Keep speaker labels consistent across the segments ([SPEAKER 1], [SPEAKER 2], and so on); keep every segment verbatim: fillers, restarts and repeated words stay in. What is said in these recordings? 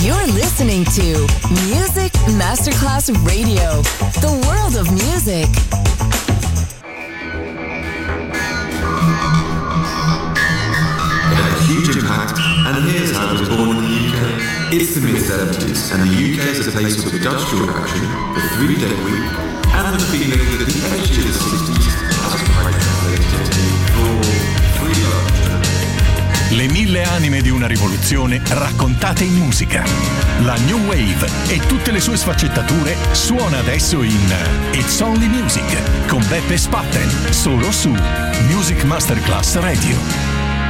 [SPEAKER 1] You're listening to Music Masterclass Radio, the world of music.
[SPEAKER 2] It had a huge impact, and here's how it was born in the U K. It's the mid seventies, and the U K is a place with industrial action, the three-day week, and the feeling that the edge of the sixties has quite translated for free love.
[SPEAKER 3] Le mille anime di una rivoluzione raccontate in musica. La New Wave e tutte le sue sfaccettature suona adesso in It's Only Music con Beppe Spatten, solo su Music Masterclass Radio.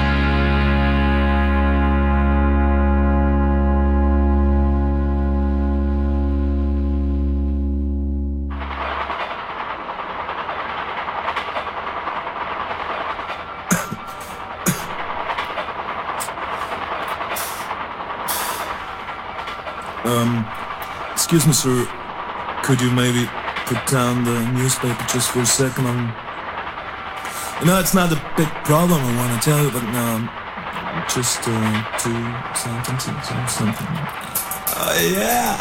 [SPEAKER 4] Um, excuse me, sir. Could you maybe put down the newspaper just for a second? I'm, you know, it's not a big problem, I want to tell you, but um, just uh, two sentences or something. Oh, yeah!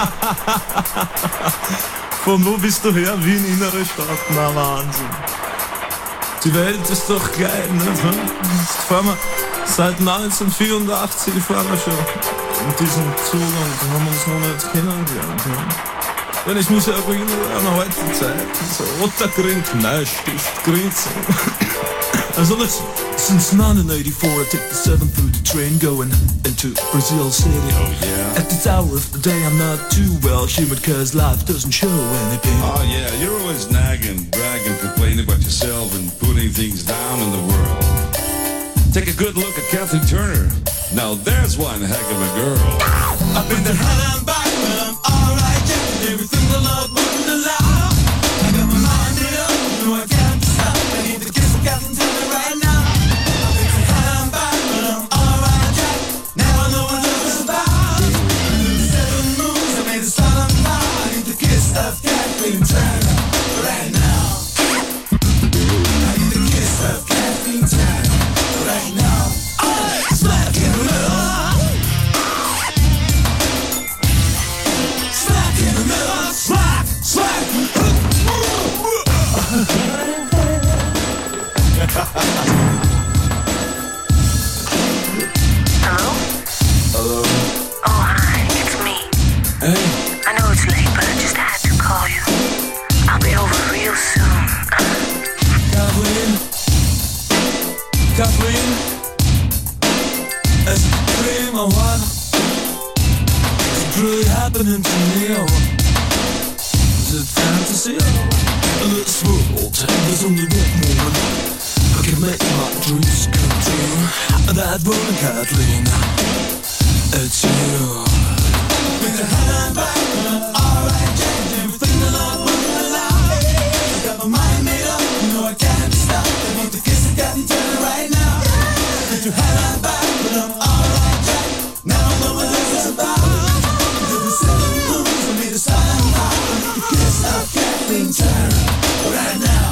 [SPEAKER 4] Von wo bist du her? Wien, innere Stadt? Na, Wahnsinn. Die Welt ist doch geil, ne? Jetzt fahren wir seit neunzehnhundertvierundachtzig, fahren wir schon mit diesem Zug und haben uns noch nicht kennengelernt. Ja. Wenn ich mich erinnere an heutige Zeit, so roter Grün, Knallstift, Grün. Also listen, since nineteen eighty-four I take the seven thirty train going into Brazil City.
[SPEAKER 5] Oh yeah.
[SPEAKER 4] At this hour of the day I'm not too well humoured cause life doesn't show anything.
[SPEAKER 5] Oh yeah, you're always nagging, bragging, complaining about yourself and putting things down in the world. Take a good look at Kathleen Turner. Now there's one heck of a girl.
[SPEAKER 6] I've been there hell and back, but I'm alright, yeah. Everything the Lord wouldn't allow. I got my mind made up, no I can't stop. I need to kiss Kathleen Turner right now. I've been there hell and back, but I'm alright, yeah. Now I know what love is about. Under the seven moons, I made a start on fire. I need to kiss of Kathleen Turner right now. I need to kiss of Kathleen Turner right now. Smack in the middle. Smack in the middle. Smack, smack.
[SPEAKER 7] Hello?
[SPEAKER 4] Hello?
[SPEAKER 7] Oh, hi, it's me.
[SPEAKER 4] Hey?
[SPEAKER 7] I know it's late, but I just had to call you. I'll be over real soon.
[SPEAKER 4] Kathleen? Kathleen? Is it a dream or what? Is it really happening to me or what? Is it fantasy? In this world, there's only one woman who can make my dreams come true. That woman, Kathleen, it's you.
[SPEAKER 6] With the hell and back, but I'm alright, yeah. Everything the Lord wouldn't allow. I got my mind made up, you know I can't stop. I need to kiss a Kathleen Turner right now. With your hell and back, but I'm alright, yeah. Now I know what this is about. Under the seven moons, I made a silent vow. I need to kiss of Kathleen Turner right now.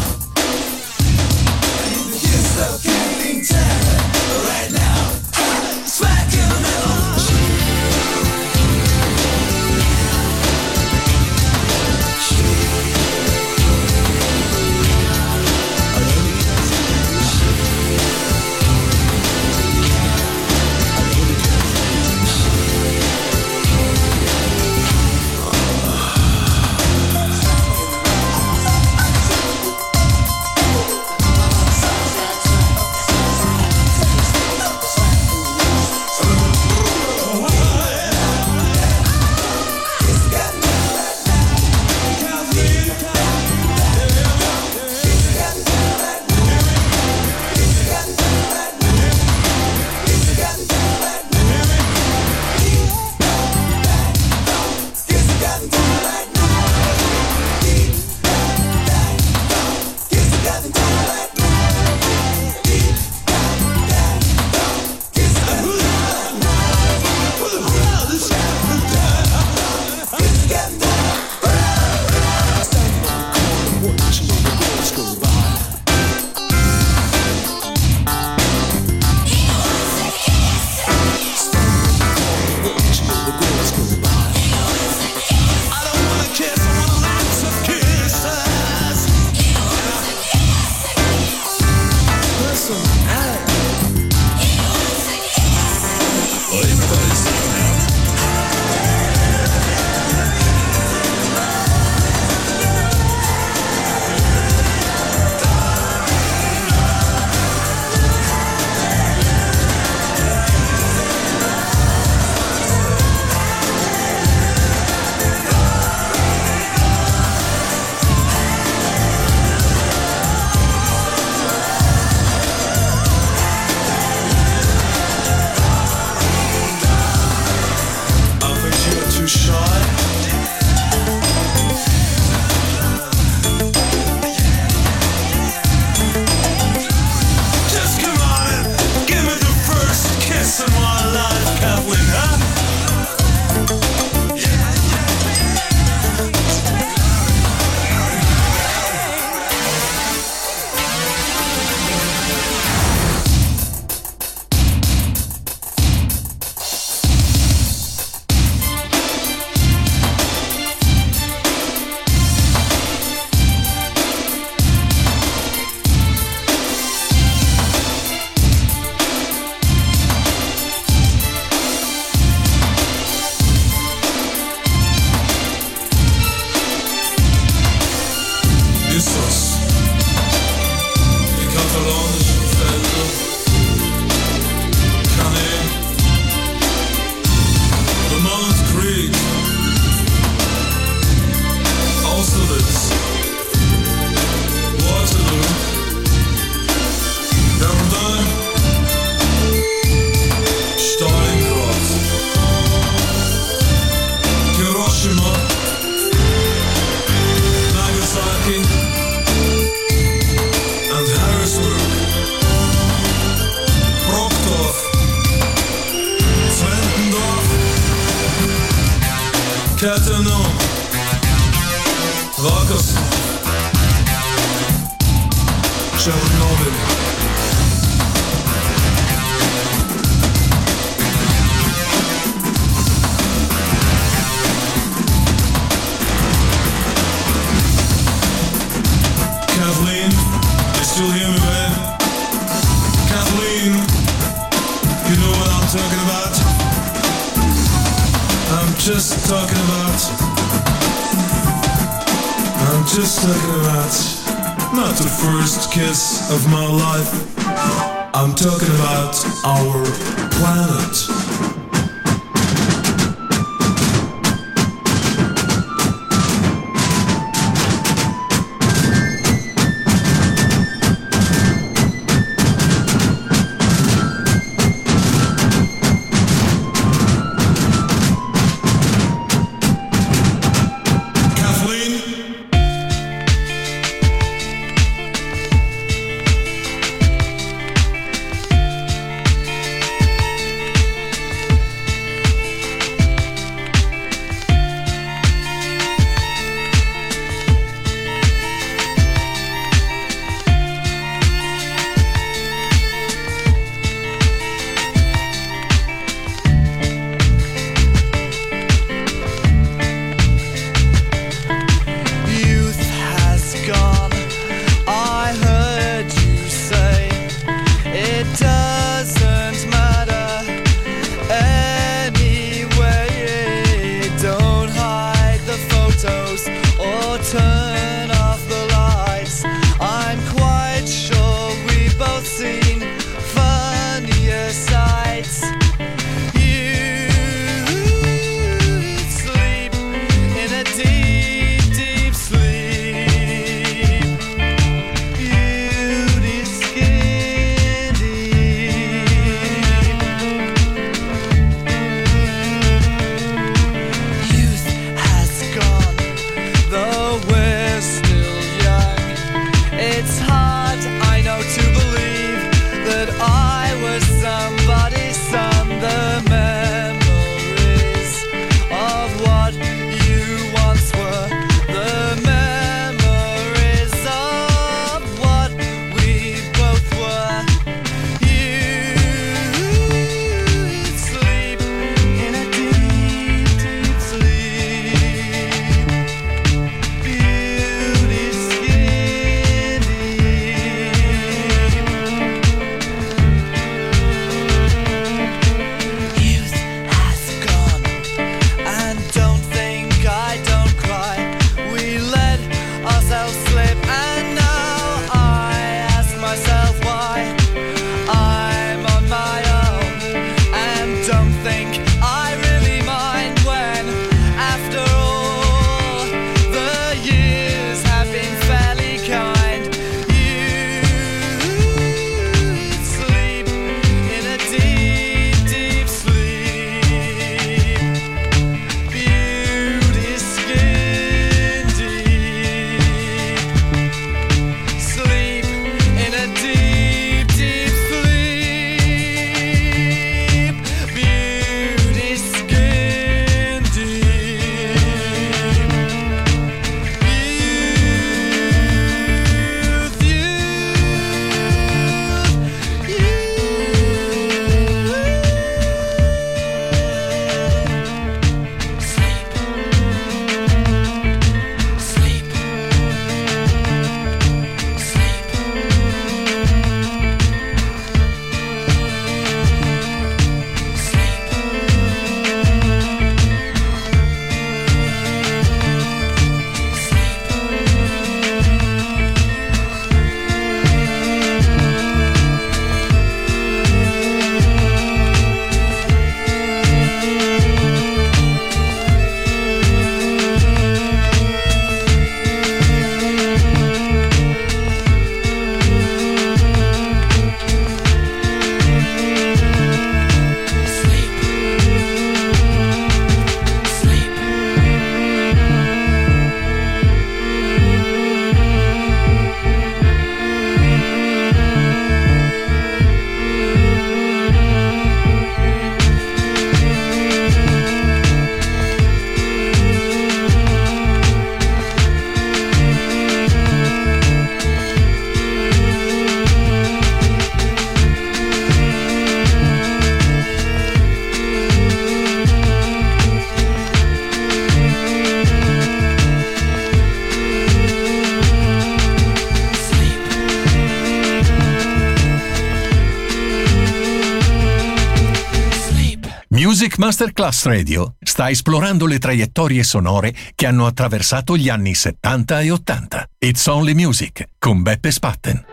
[SPEAKER 6] I need to kiss of Kathleen Turner right now. Smack in the middle.
[SPEAKER 4] Catano, Rokos, Chernobyl. Kathleen, you still hear me, babe? Kathleen, you know what I'm talking about? I'm just talking about I'm just talking about not the first kiss of my life. I'm talking about our planet.
[SPEAKER 3] Music Masterclass Radio sta esplorando le traiettorie sonore che hanno attraversato gli anni settanta e ottanta. It's Only Music con Beppe Spatten.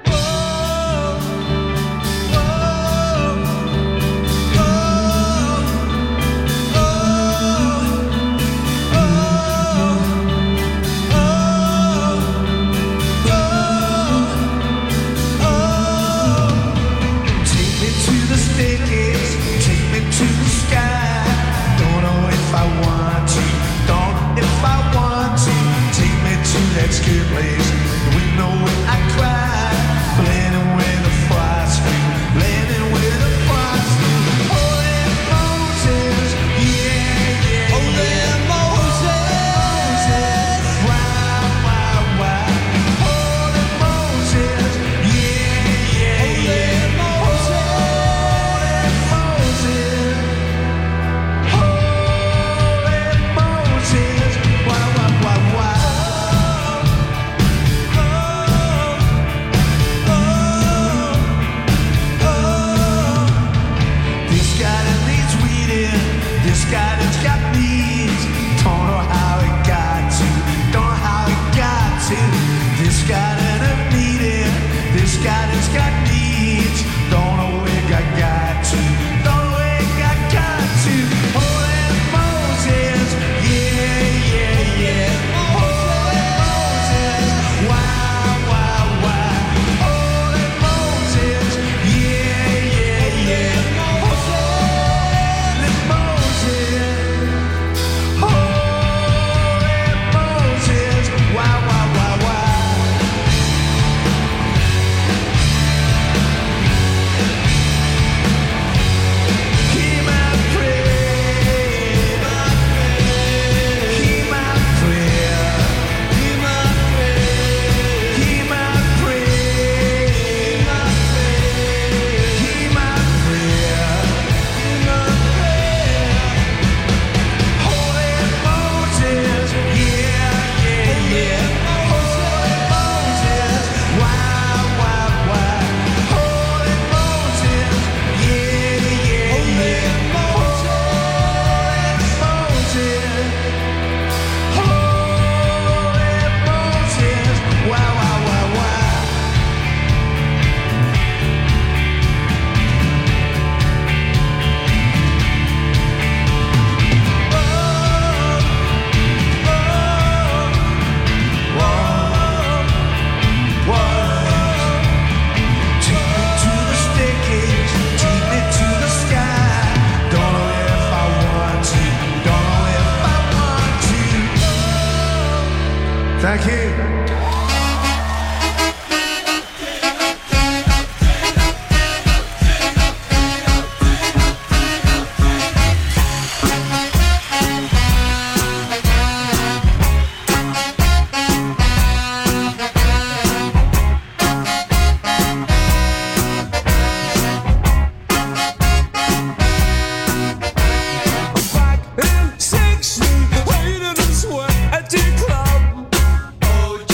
[SPEAKER 6] That skip place, the window where I cried, blending with the frost, blending with the frost. Holy Moses, yeah, yeah, Holy Moses, why, why, why? Holy Moses, yeah, yeah, yeah, Holy Moses, Holy Moses, why, why, why, why? This guy that's got needs, don't know how it got to, don't know how it got to. This guy that I needed, this guy that's got needs, don't know where it got, got to, don't know where it got, got to. Holy Moses, yeah, yeah, yeah. Holy Moses, why, why, why? Holy Moses, yeah, yeah, yeah. Thank you.
[SPEAKER 8] Sexy, waiting and sweat at the club. Oh,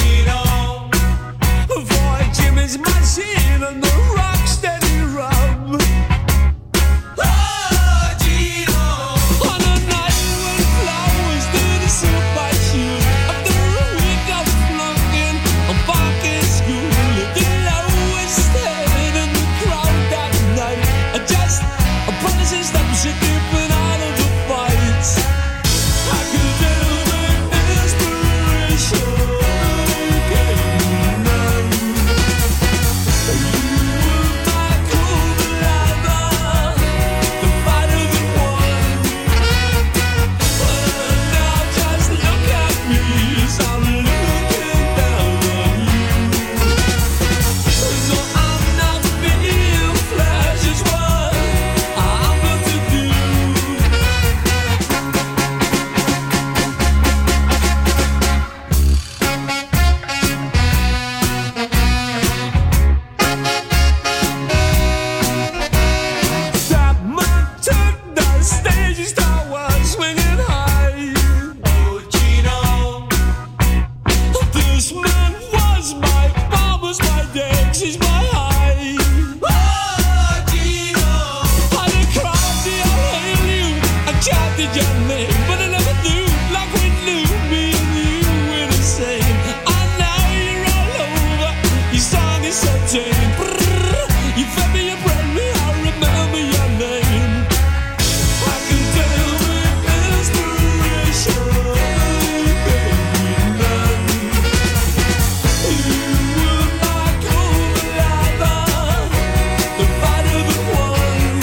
[SPEAKER 6] expected your name, but I never knew like we knew me and you were the same. I know you're all over. Your song is so tame. Brrr, you fed me, you bred me. I remember your name. I can tell with inspiration, baby, none. You were my co-lover, the fighter, the one.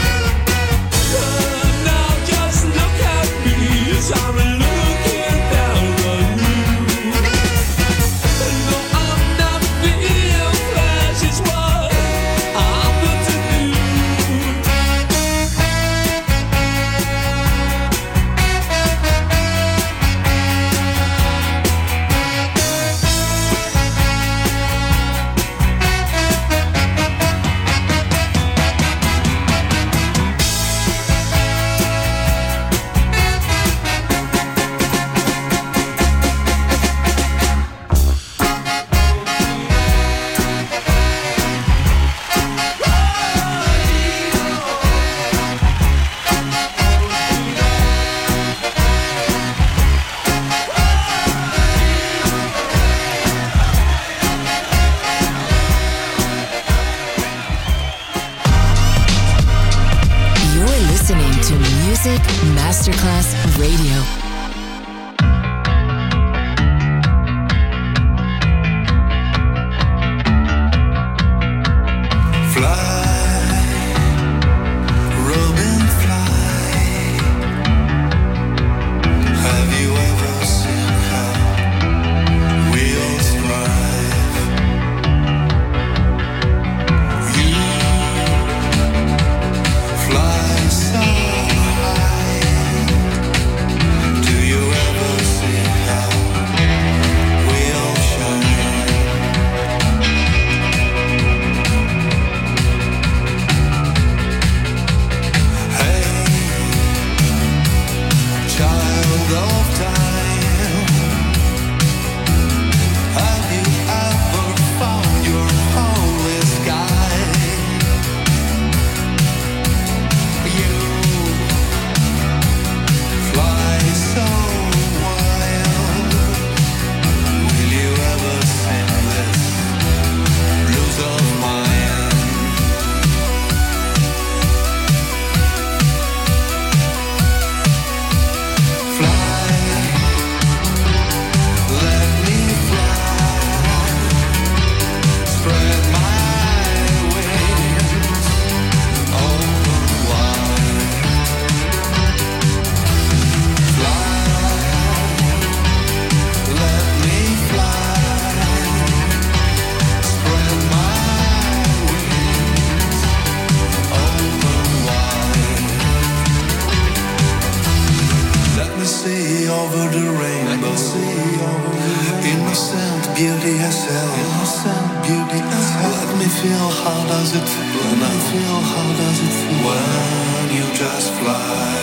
[SPEAKER 6] Uh, now just look at me as I'm looking down on you. No, I'm not being flash, it's what I'm good to do.
[SPEAKER 1] You're listening to Music Masterclass Radio.
[SPEAKER 8] Robin, fly. Have you ever seen how wheels thrive? You fly so high. Do you ever see how wheels shine? Hey, child of time, have you ever found your holy sky? You fly so wild. Will you ever sing this blues of mine? Fly, let me fly, spread my wings, open wide. Fly, let me fly, spread my wings, open wide. Let me see over the rainbow. Innocent beauty herself. Innocent beauty herself. Let me feel how does it feel. Let me feel how does it feel when you just fly.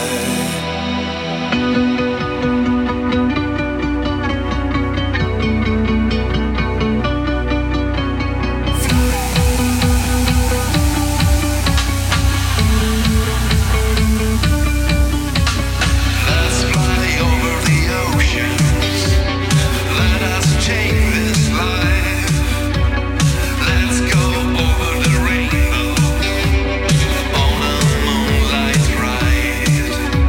[SPEAKER 8] Let's fly over the oceans. Let us take this life. Let's go over the rainbow on a moonlight ride.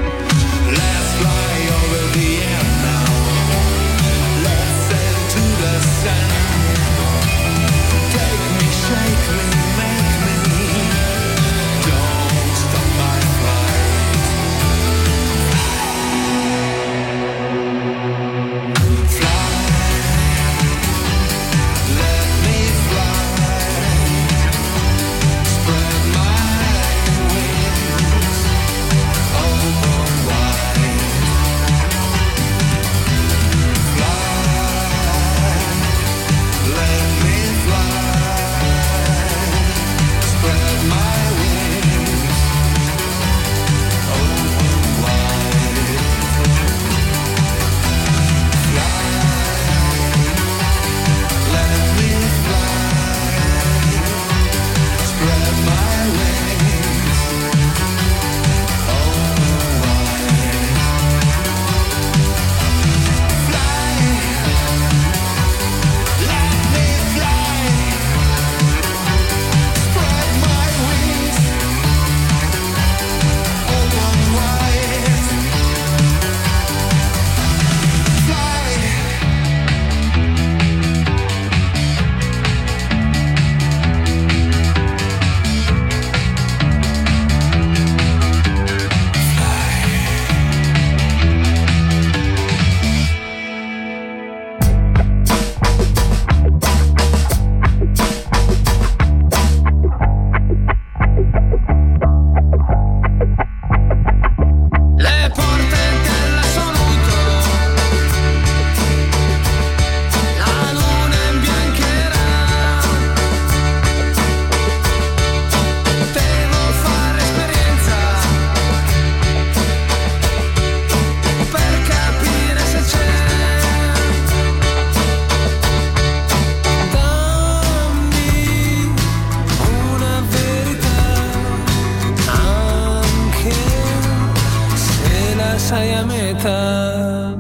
[SPEAKER 9] sei a metà.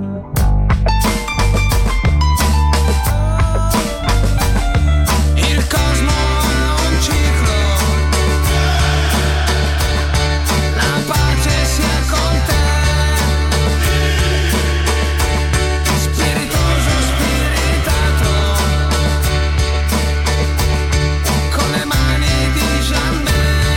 [SPEAKER 9] Il cosmo ha un ciclo, la pace sia con te. Spiritoso, spiritato, con le mani di Jeanne.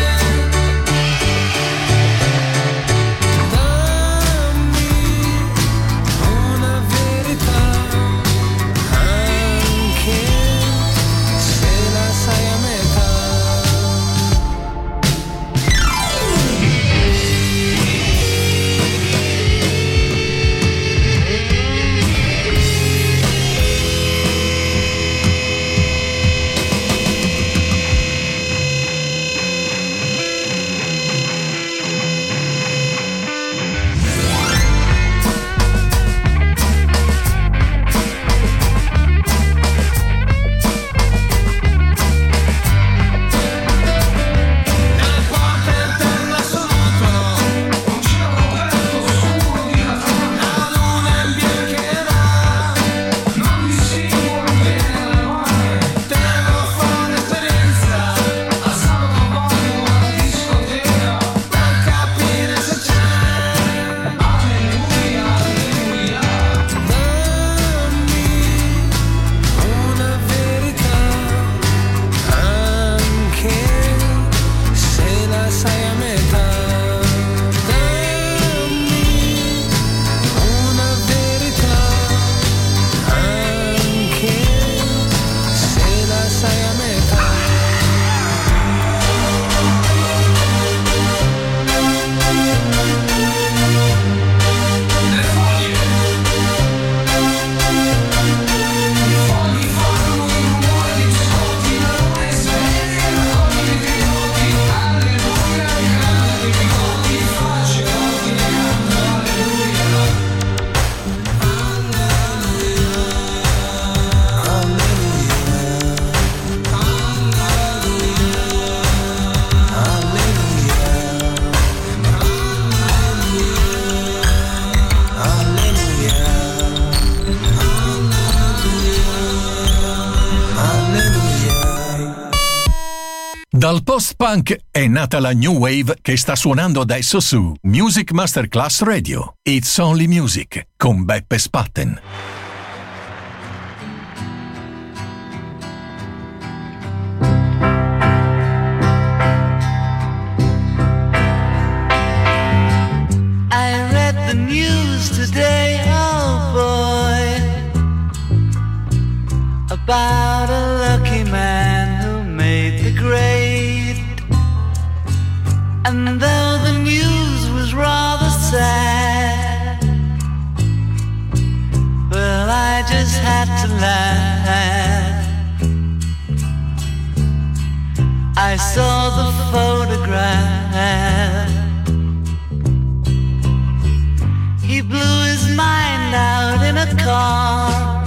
[SPEAKER 3] Dal post-punk è nata la new wave che sta suonando adesso su Music Masterclass Radio. It's Only Music con Beppe Spatten.
[SPEAKER 10] I read the news today, oh boy, about a lucky man who made the grade. And though the news was rather sad, well, I just had to laugh. I saw the photograph. He blew his mind out in a car.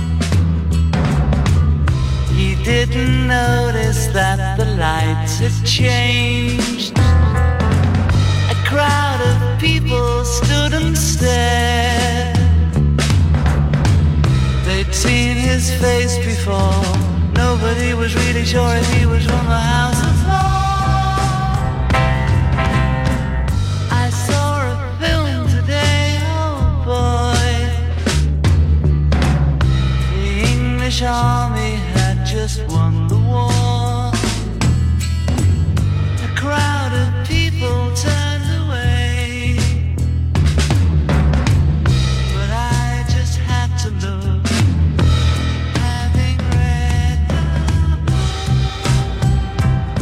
[SPEAKER 10] He didn't notice that the lights had changed. A crowd of people stood and stared. They'd seen his face before. Nobody was really sure if he was from the House of Lords. I saw a film today, oh boy. The English army had just won the war. A crowd of people turned away, but I just had to look. Having read the book,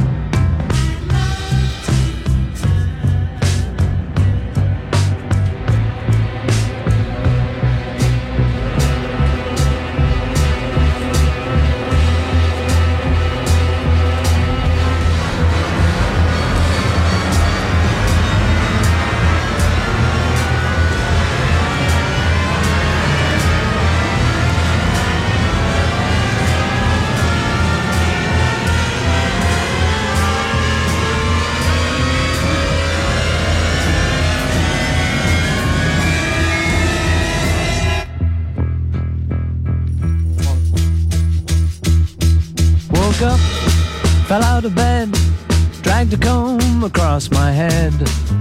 [SPEAKER 11] Fell out of bed, dragged a comb across my head.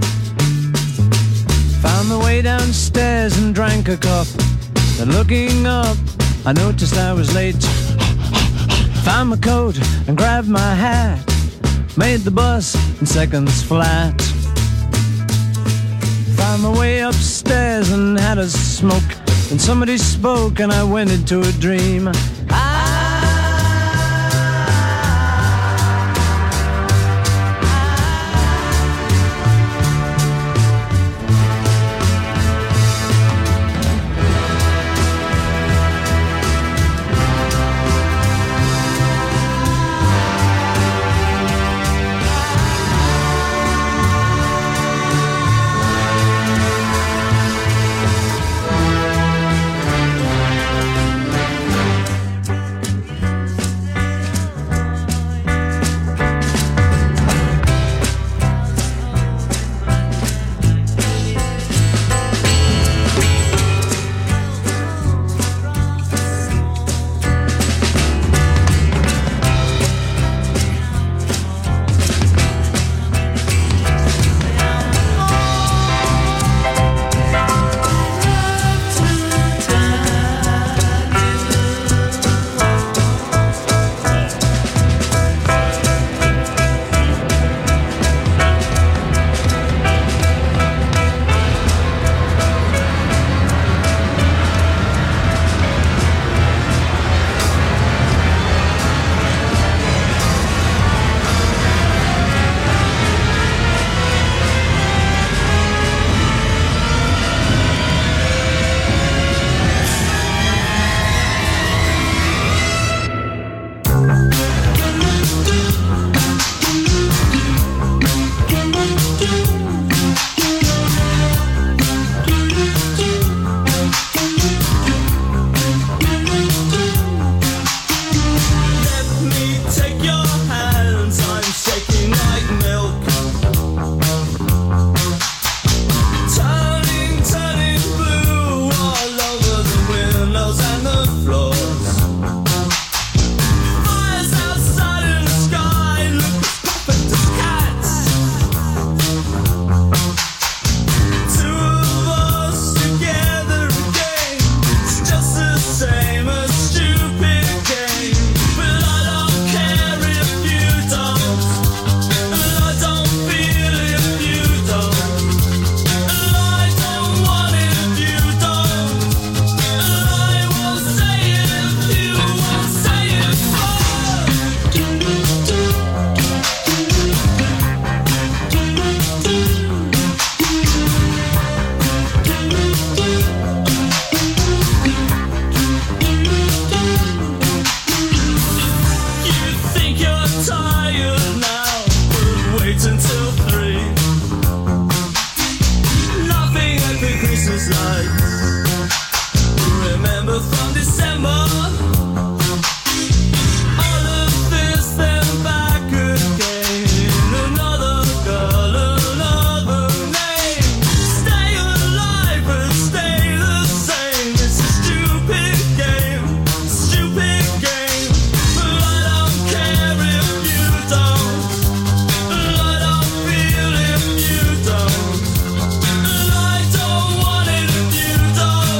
[SPEAKER 11] Found my way downstairs and drank a cup. Then looking up, I noticed I was late. Found my coat and grabbed my hat. Made the bus in seconds flat. Found my way upstairs and had a smoke. Then somebody spoke and I went into a dream.
[SPEAKER 6] Don't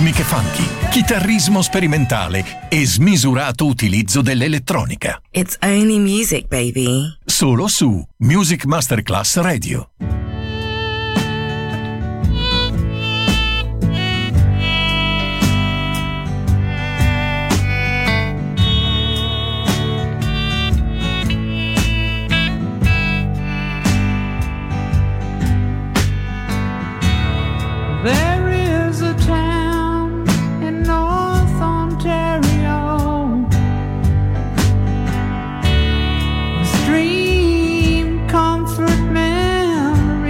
[SPEAKER 3] tecniche funky, chitarrismo sperimentale e smisurato utilizzo dell'elettronica.
[SPEAKER 12] It's only music, baby.
[SPEAKER 3] Solo su Music Masterclass Radio.
[SPEAKER 13] There is a town in North Ontario, a stream comfort memory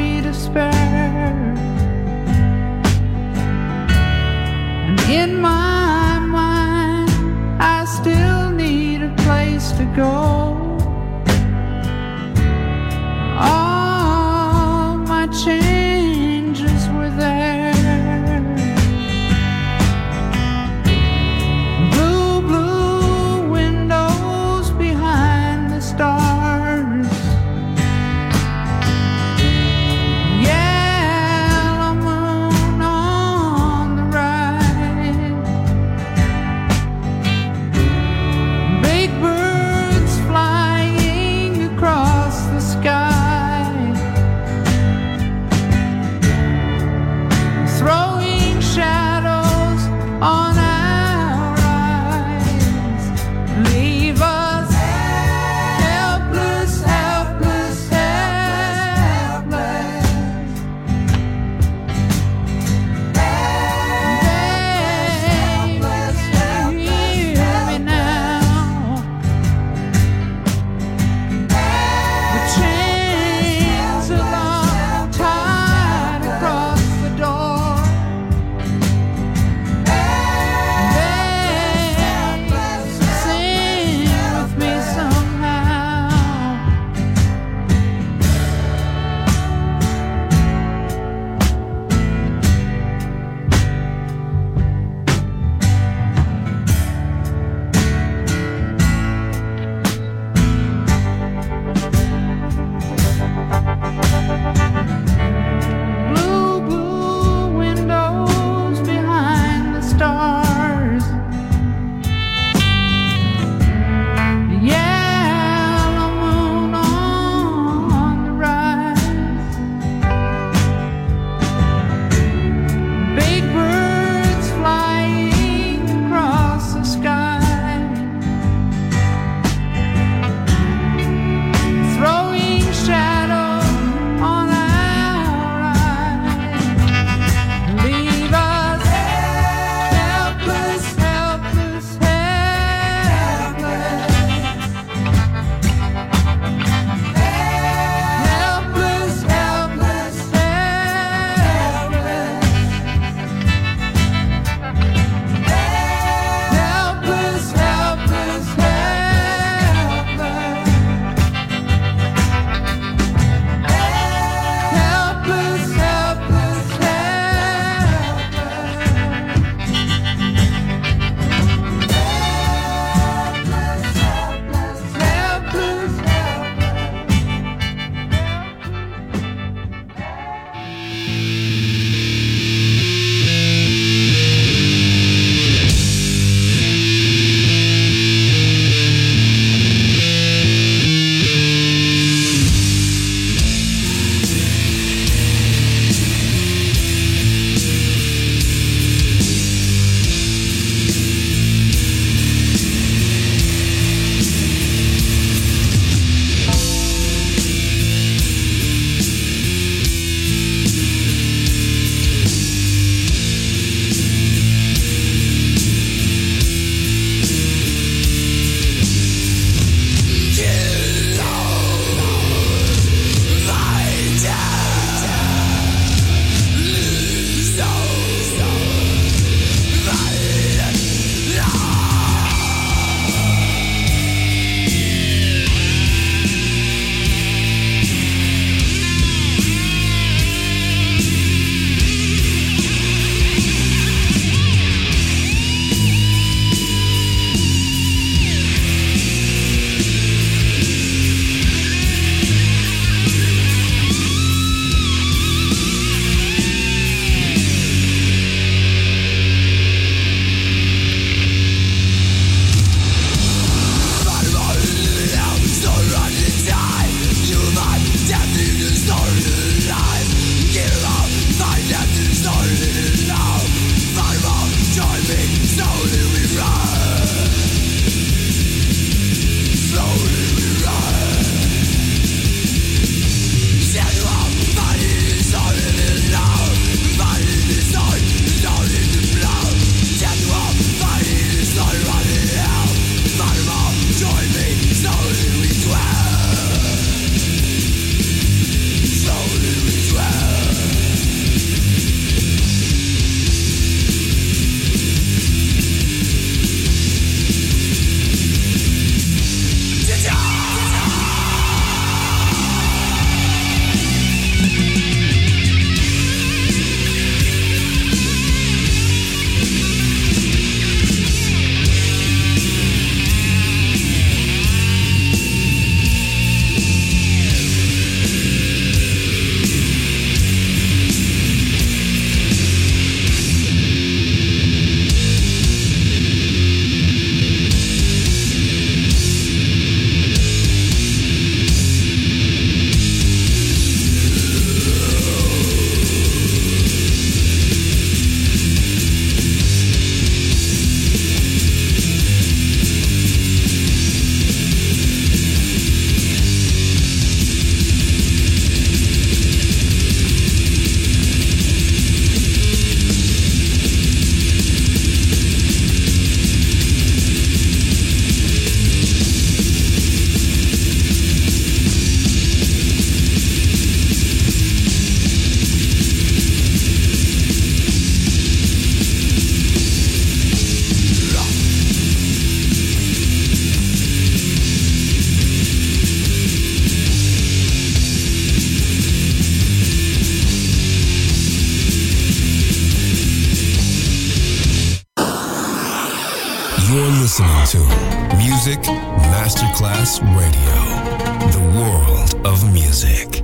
[SPEAKER 14] You're listening to Music Masterclass Radio, the world of music.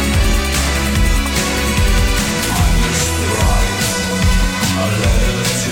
[SPEAKER 15] A letter to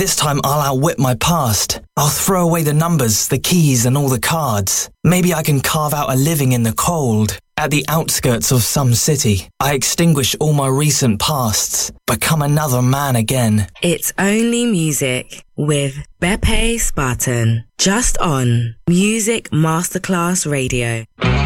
[SPEAKER 15] this time I'll outwit my past. I'll throw away the numbers, the keys, and all the cards. Maybe I can carve out a living in the cold. At the outskirts of some city, I extinguish all my recent pasts, become another man again.
[SPEAKER 12] It's Only Music with Beppe Spartan, just on Music Masterclass Radio.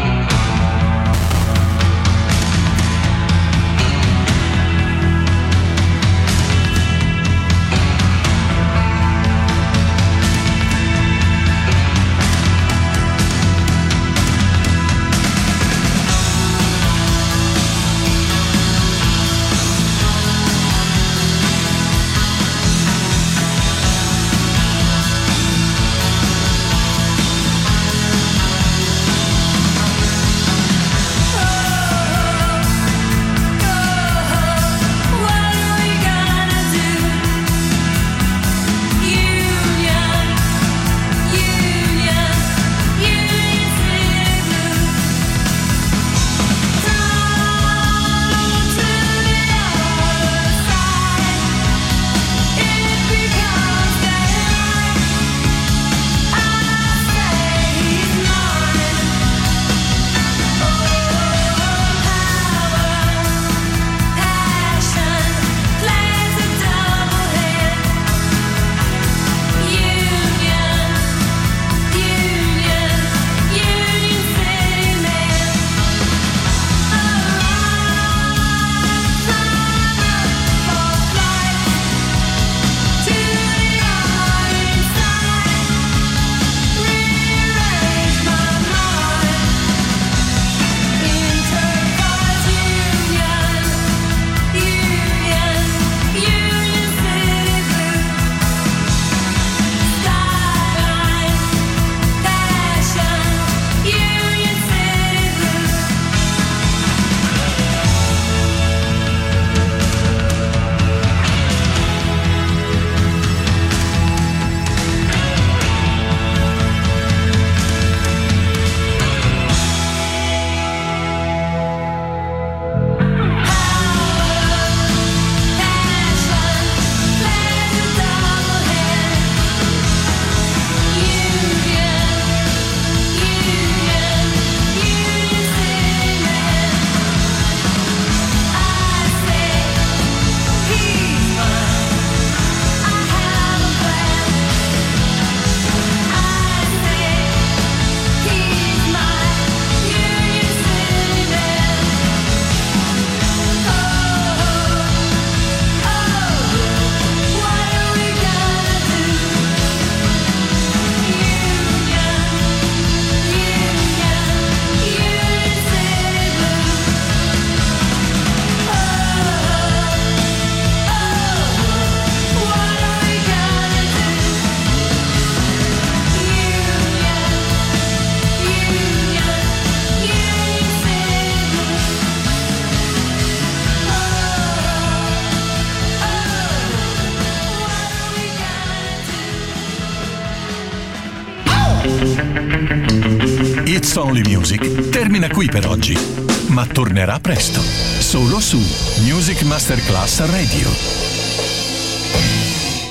[SPEAKER 3] It's Only Music termina qui per oggi, ma tornerà presto, solo su Music Masterclass Radio.